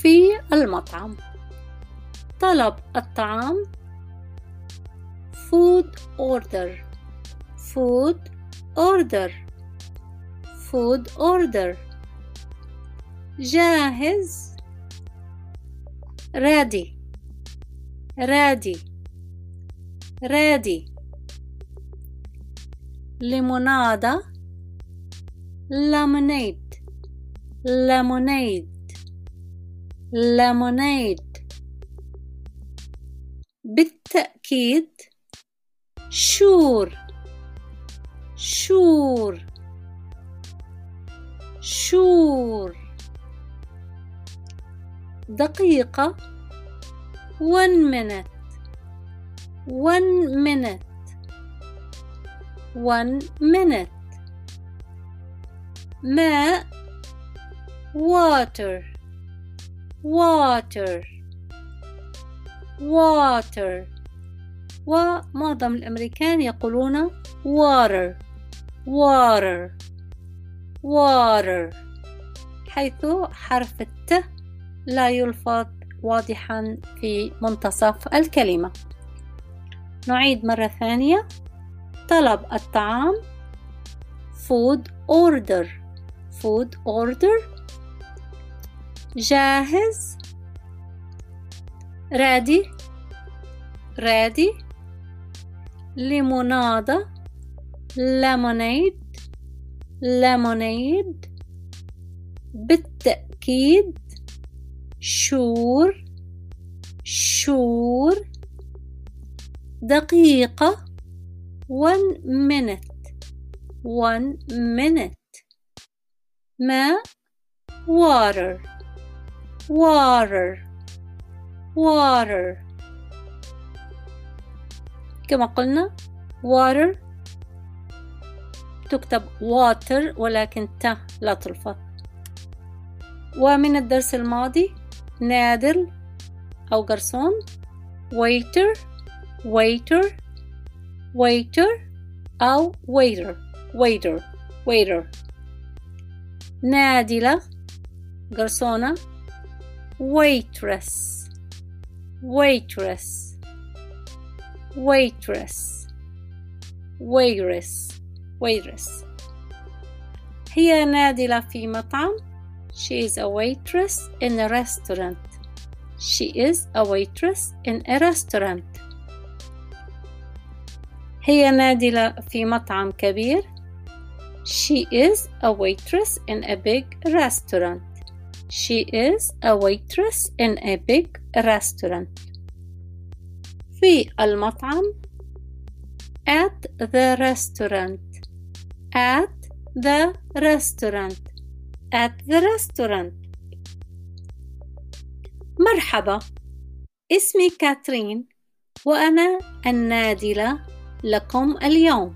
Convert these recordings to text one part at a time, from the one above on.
في المطعم. طلب الطعام food order food order food order. جاهز ready ready ready. ليمونادة lemonade lemonade lemonade. بالتأكيد sure sure sure. دقيقة 1 minute 1 minute 1 minute. ماء water water water. ومعظم الأمريكان يقولون water water water، حيث حرف الت لا يلفظ واضحا في منتصف الكلمة. نعيد مرة ثانية. طلب الطعام food order food order. جاهز ready ready. ليمونادة lemonade lemonade. بالتأكيد sure sure. دقيقة 1 minute 1 minute. ماء water water water. كما قلنا water تكتب water ولكن ت لا تلفظ. ومن الدرس الماضي نادل أو جرسون waiter waiter waiter أو waiter waiter waiter. نادلة جرسونة waitress waitress waitress waitress waitress. هي نادلة في مطعم. She is a waitress in a restaurant. She is a waitress in a restaurant. هي نادلة في مطعم كبير. She is a waitress in a big restaurant. She is a waitress in a big restaurant. في المطعم at the restaurant at the restaurant at the restaurant. مرحبا، اسمي كاترين وأنا النادلة لكم اليوم.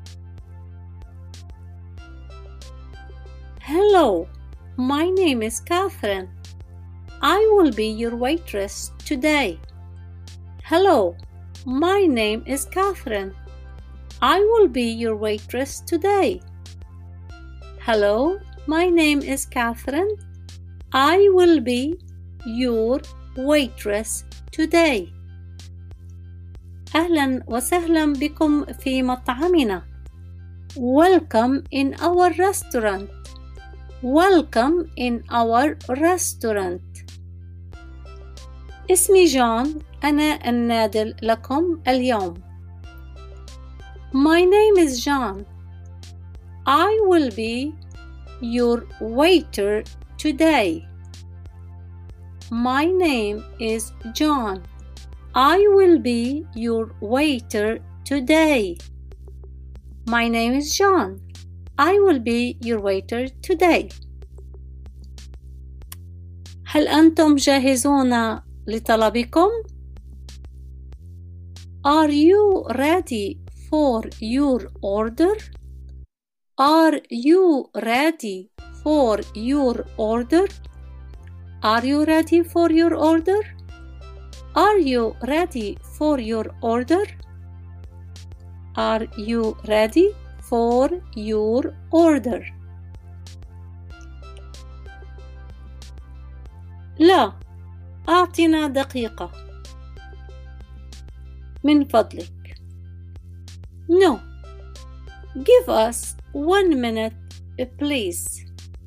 Hello, my name is Catherine. I will be your waitress today. Hello, my name is Catherine. I will be your waitress today. Hello, my name is Catherine. I will be your waitress today. أهلا وسهلا بكم في مطعمنا. Welcome in our restaurant. Welcome in our restaurant. اسمي جون، أنا النادل لكم اليوم. My name is John. I will be your waiter today. My name is John. I will be your waiter today. My name is John. I will be your waiter today. هل أنتم جاهزون لطلبكم؟ Are you ready for your order? Are you ready for your order? Are you ready for your order? Are you ready for your order? Are you ready for your order? لا، أعطنا دقيقة من فضلك. No. Give us 1 minute please.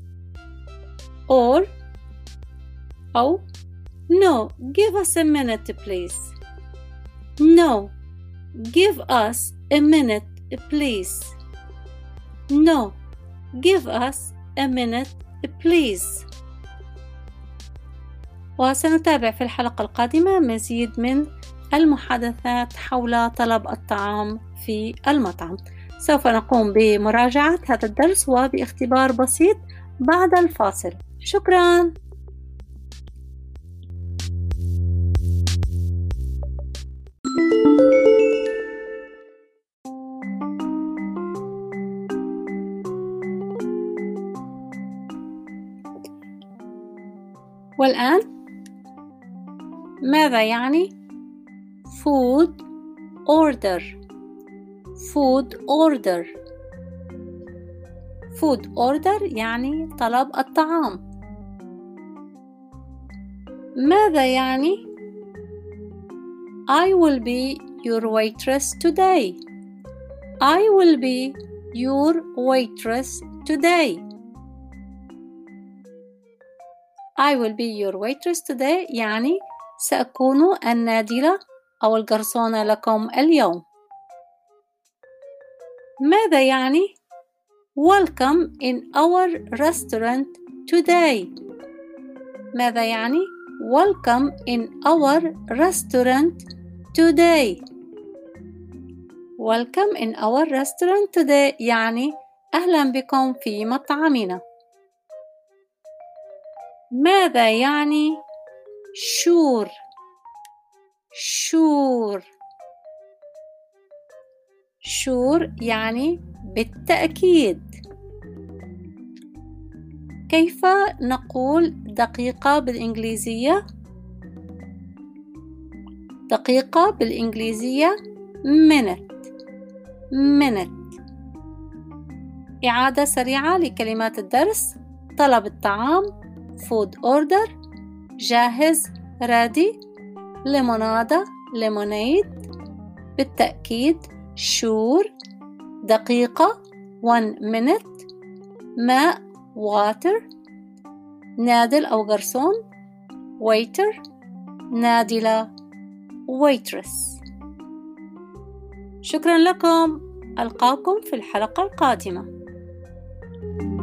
Or أو No. Give us a minute please. No. Give us a minute please. No. Give us a minute please. وسنتابع في الحلقة القادمة مزيد من المحادثات حول طلب الطعام في المطعم. سوف نقوم بمراجعة هذا الدرس وباختبار بسيط بعد الفاصل. شكراً. والآن ماذا يعني food order؟ food order. food order يعني طلب الطعام. ماذا يعني I will be your waitress today. I will be your waitress today. I will be your waitress today يعني سأكون النادلة أو الجرسونة لكم اليوم. ماذا يعني welcome in our restaurant today؟ ماذا يعني welcome in our restaurant today؟ welcome in our restaurant today يعني أهلا بكم في مطعمنا. ماذا يعني sure؟ sure. sure يعني بالتأكيد. كيف نقول دقيقة بالإنجليزية؟ دقيقة بالإنجليزية minute. minute. إعادة سريعة لكلمات الدرس: طلب الطعام food order، جاهز ready، ليمونادة lemonade، بالتأكيد sure، دقيقة 1 minute، ماء water، نادل أو جرسون waiter، نادلة waitress. شكرا لكم، ألقاكم في الحلقة القادمة.